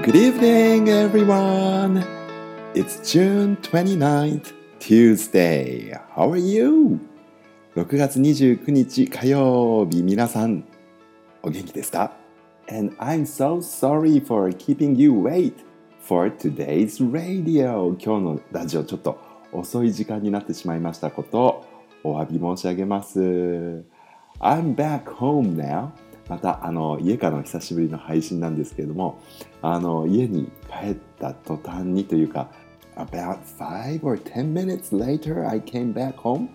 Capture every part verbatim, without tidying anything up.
Good evening, everyone. It's June twenty-ninth, Tuesday. How are you? ろくがつにじゅうくにち火曜日、皆さんお元気ですか？ And I'm so sorry for keeping you wait for today's radio. 今日のラジオちょっと遅い時間になってしまいましたことをお詫び申し上げます。I'm back home now. またあの家からの久しぶりの配信なんですけれども、あの家に帰った途端にというか about five or ten minutes later I came back home.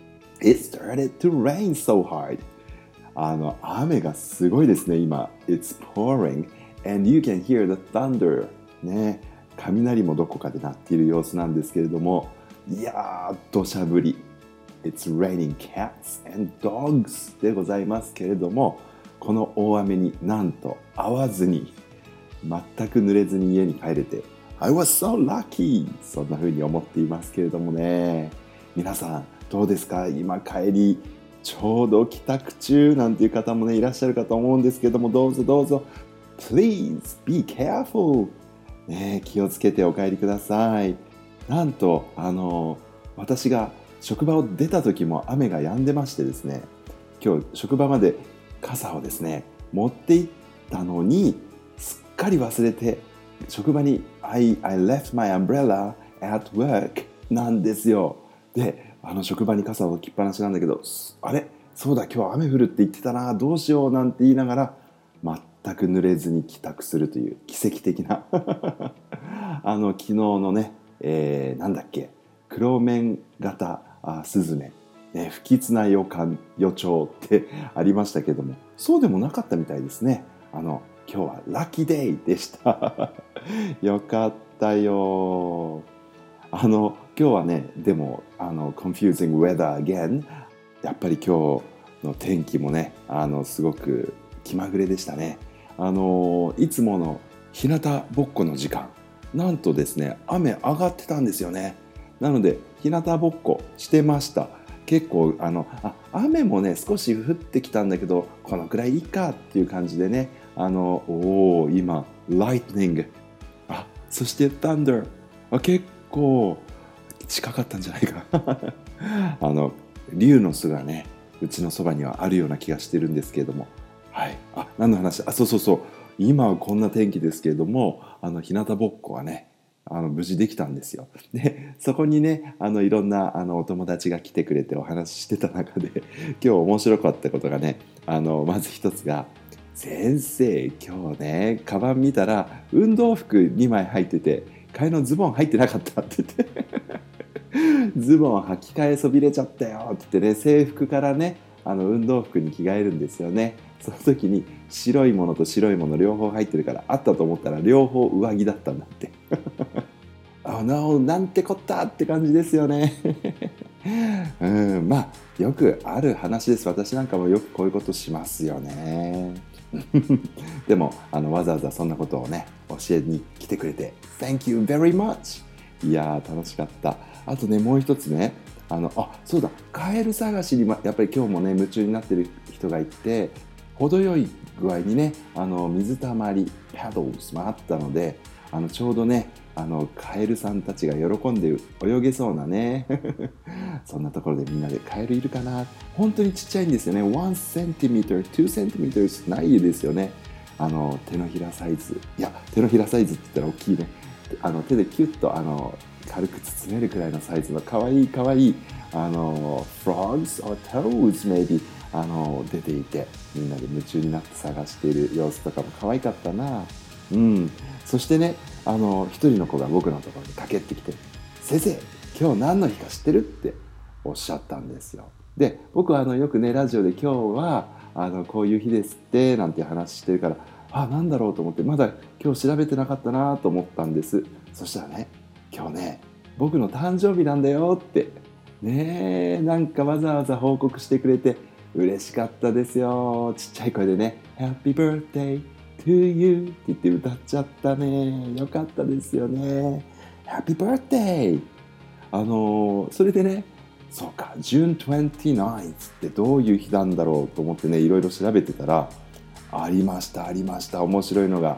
It started to rain so hard. あの雨がすごいですね今。It's pouring and you can hear the thunder. ね、雷もどこかで鳴っている様子なんですけれども、いやー土砂降り。It's raining cats and dogs でございますけれども、この大雨になんと会わずに全く濡れずに家に帰れて I was so lucky そんな風に思っていますけれどもね。皆さんどうですか？今帰りちょうど帰宅中なんていう方もねいらっしゃるかと思うんですけれども、どうぞどうぞ Please be careful、ね、気をつけてお帰りください。なんとあの私が職場を出た時も雨が止んでましてですね、今日職場まで傘をですね持って行ったのにすっかり忘れて職場に I, I left my umbrella at work なんですよ。で、あの職場に傘を置きっぱなしなんだけど、あれそうだ今日雨降るって言ってたな、どうしようなんて言いながら全く濡れずに帰宅するという奇跡的なあの昨日のね、えー、なんだっけ黒面型あスズメね、不吉な予感予兆ってありましたけども、そうでもなかったみたいですね。あの今日はラッキーデイでしたよかったよ。あの今日はねでもあの confusing weather again。 やっぱり今日の天気もねあのすごく気まぐれでしたね。あのいつもの日向ぼっこの時間なんとですね雨上がってたんですよね。なので日向ぼっこしてました。結構あのあ雨もね少し降ってきたんだけどこのくらいいいかっていう感じでね、あのおー今 lightning あそして thunder あ結構近かったんじゃないかあの竜の巣がねうちのそばにはあるような気がしてるんですけれども、はいあ何の話あそうそうそう今はこんな天気ですけれども、あの日向ぼっこはねあの無事できたんですよ。でそこにねあのいろんなあのお友達が来てくれてお話ししてた中で今日面白かったことがね、あのまず一つが先生今日ねカバン見たら運動服にまい入ってて替えのズボン入ってなかったって言ってズボン履き替えそびれちゃったよって言ってね、制服からねあの運動服に着替えるんですよね。その時に白いものと白いもの両方入ってるからあったと思ったら両方上着だったんだってあのなんてこったって感じですよねうんまあよくある話です。私なんかもよくこういうことしますよねでもあのわざわざそんなことをね教えに来てくれて Thank you very much。 いやー楽しかった。あとねもう一つねあのあそうだカエル探しにやっぱり今日もね夢中になってる人がいて、程よい具合にねあの水たまりパドルスもあったので、あのちょうどねあのカエルさんたちが喜んで泳げそうなねそんなところでみんなでカエルいるかな。本当にちっちゃいんですよね。ワンセンチメートル、ツーセンチメートルないですよね。あの手のひらサイズ、いや手のひらサイズって言ったら大きいね。あの手でキュッとあの軽く包めるくらいのサイズのかわいいかわいいあの frogs or toads maybe あの出ていて、みんなで夢中になって探している様子とかも可愛かったな。うん。そしてねあの一人の子が僕のところに駆けってきて、先生今日何の日か知ってるっておっしゃったんですよ。で僕はあのよくねラジオで今日はあのこういう日ですってなんて話してるから、あなんだろうと思ってまだ今日調べてなかったなと思ったんです。そしたらね今日ね僕の誕生日なんだよってねえなんかわざわざ報告してくれて嬉しかったですよ。ちっちゃい声でね Happy birthday to you って言って歌っちゃったね。よかったですよね。 Happy birthday。 あのー、それでねそうか June twenty-ninth ってどういう日なんだろうと思ってねいろいろ調べてたらありましたありました面白いのが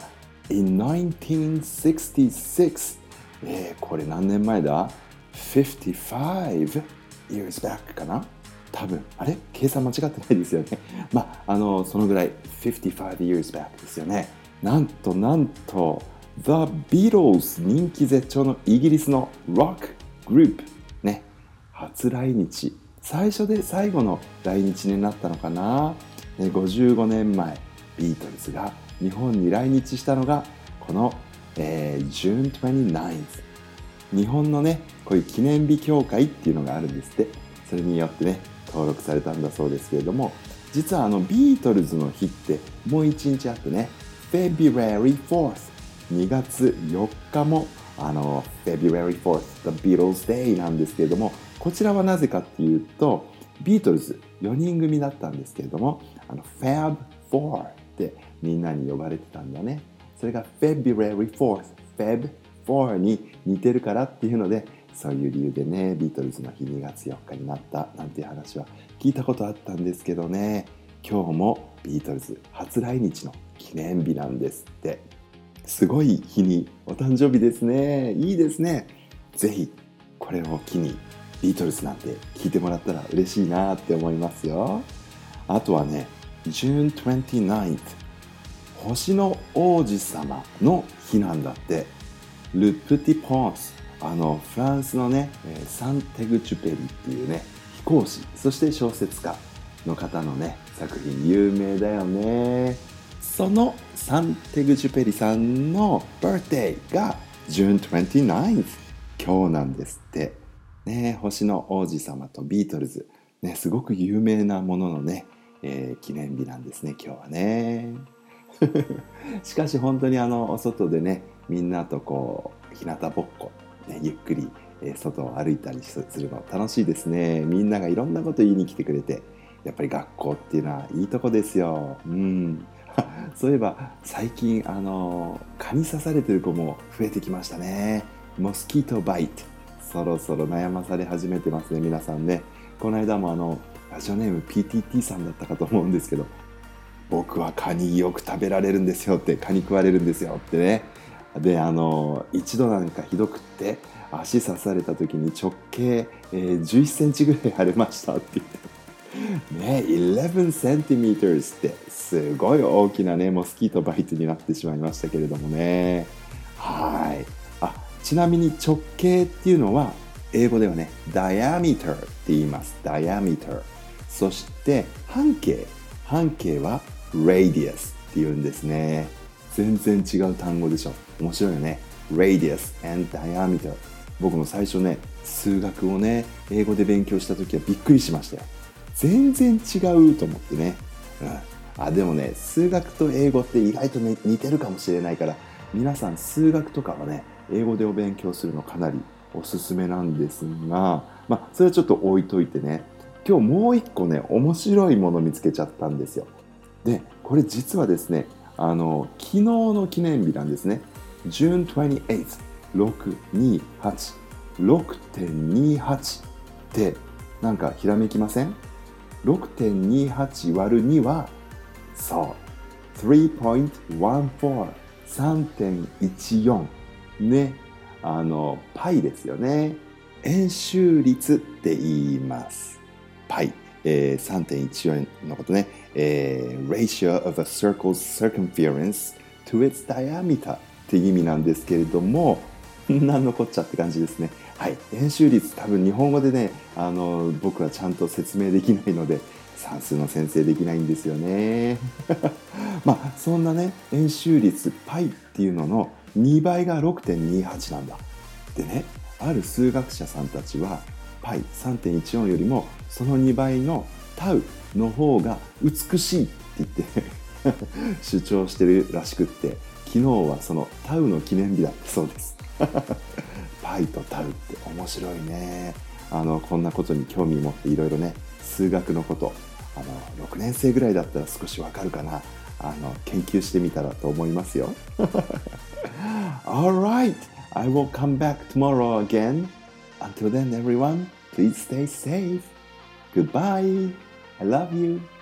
in nineteen sixty-six、えー、これ何年前だ ?fifty-five years back かな多分。あれ計算間違ってないですよね。まあ、あの、そのぐらいfifty-five years back ですよね。なんとなんと The Beatles 人気絶頂のイギリスのロックグループね、初来日。最初で最後の来日になったのかな、ね、ごじゅうごねんまえビートルズが日本に来日したのがこの、えー、June twenty-ninth。 日本のねこういう記念日協会っていうのがあるんですって。それによってね登録されたんだそうですけれども、実はあのビートルズの日ってもう一日あってね、 February fourth、 にがつよっかもあの February fourth The Beatles Day なんですけれども、こちらはなぜかっていうと、ビートルズよにん組だったんですけれども、あの ファブフォー ってみんなに呼ばれてたんだね。それが February fourth、 ファブフォー に似てるからっていうので、そういう理由でねビートルズの日にがつよっかになったなんていう話は聞いたことあったんですけどね、今日もビートルズ初来日の記念日なんですって。すごい日にお誕生日ですね。いいですね。ぜひこれを機にビートルズなんて聞いてもらったら嬉しいなって思いますよ。あとはね June twenty-ninth、 星の王子様の日なんだって。ル・プティ・ポンス、あのフランスのねサンテグチュペリっていうね飛行士、そして小説家の方のね作品有名だよね。そのサンテグジュペリさんのバースデーが June twenty-ninth、 今日なんですってね。星の王子様とビートルズ、ね、すごく有名なもののね、えー、記念日なんですね今日はね。しかし本当にあのお外でねみんなとこう日向ぼっこ、ね、ゆっくり、えー、外を歩いたりするの楽しいですね。みんながいろんなこと言いに来てくれて、やっぱり学校っていうのはいいとこですよ。うんそういえば最近あの蚊に刺されてる子も増えてきましたね。モスキートバイト、そろそろ悩まされ始めてますね皆さんね。この間もあのラジオネーム ピーティーティー さんだったかと思うんですけど、僕は蚊によく食べられるんですよって、蚊に食われるんですよってね。であの一度なんかひどくって足刺された時に直径、えー、じゅういっセンチぐらい腫れましたって言ってね、eleven centimeters ってすごい大きなねモスキートバイトになってしまいましたけれどもね。はい。あ、ちなみに直径っていうのは英語ではね diameter って言います。 diameter。 そして半径、半径は radius って言うんですね。全然違う単語でしょ。面白いよね。 radius and diameter。 僕も最初ね数学をね英語で勉強した時はびっくりしましたよ。全然違うと思ってね、うん、あでもね数学と英語って意外と、ね、似てるかもしれないから、皆さん数学とかはね英語でお勉強するのかなりおすすめなんですが、まあそれはちょっと置いといてね、今日もう一個ね面白いもの見つけちゃったんですよ。でこれ実はですねあの昨日の記念日なんですね。 June twenty-eighth、 ろくにはち、 ろくてんにはち ってなんかひらめきません？ ろくてんにはち 割るにはそう さんてんいちよん さんてんいちよん ね、あのパイですよね。円周率って言います。パイ、えー、さんてんいちよん のことね、えー、ratio of a circle's circumference to its diameter って意味なんですけれども、なんのこっちゃって感じですね。はい、円周率多分日本語でねあの僕はちゃんと説明できないので算数の先生できないんですよね。まあそんなね円周率 π っていうののにばいが ろくてんにはち なんだ。でね、ある数学者さんたちは πさんてんいちよん よりもそのにばいの τ の方が美しいって言って主張してるらしくって、昨日はその τ の記念日だったそうです。パイとタウって面白いね。あのこんなことに興味持っていろいろね数学のこと、あのろくねん生ぐらいだったら少しわかるかな、あの研究してみたらと思いますよ。Alright, I will come back tomorrow again. Until then everyone, please stay safe. Goodbye. I love you.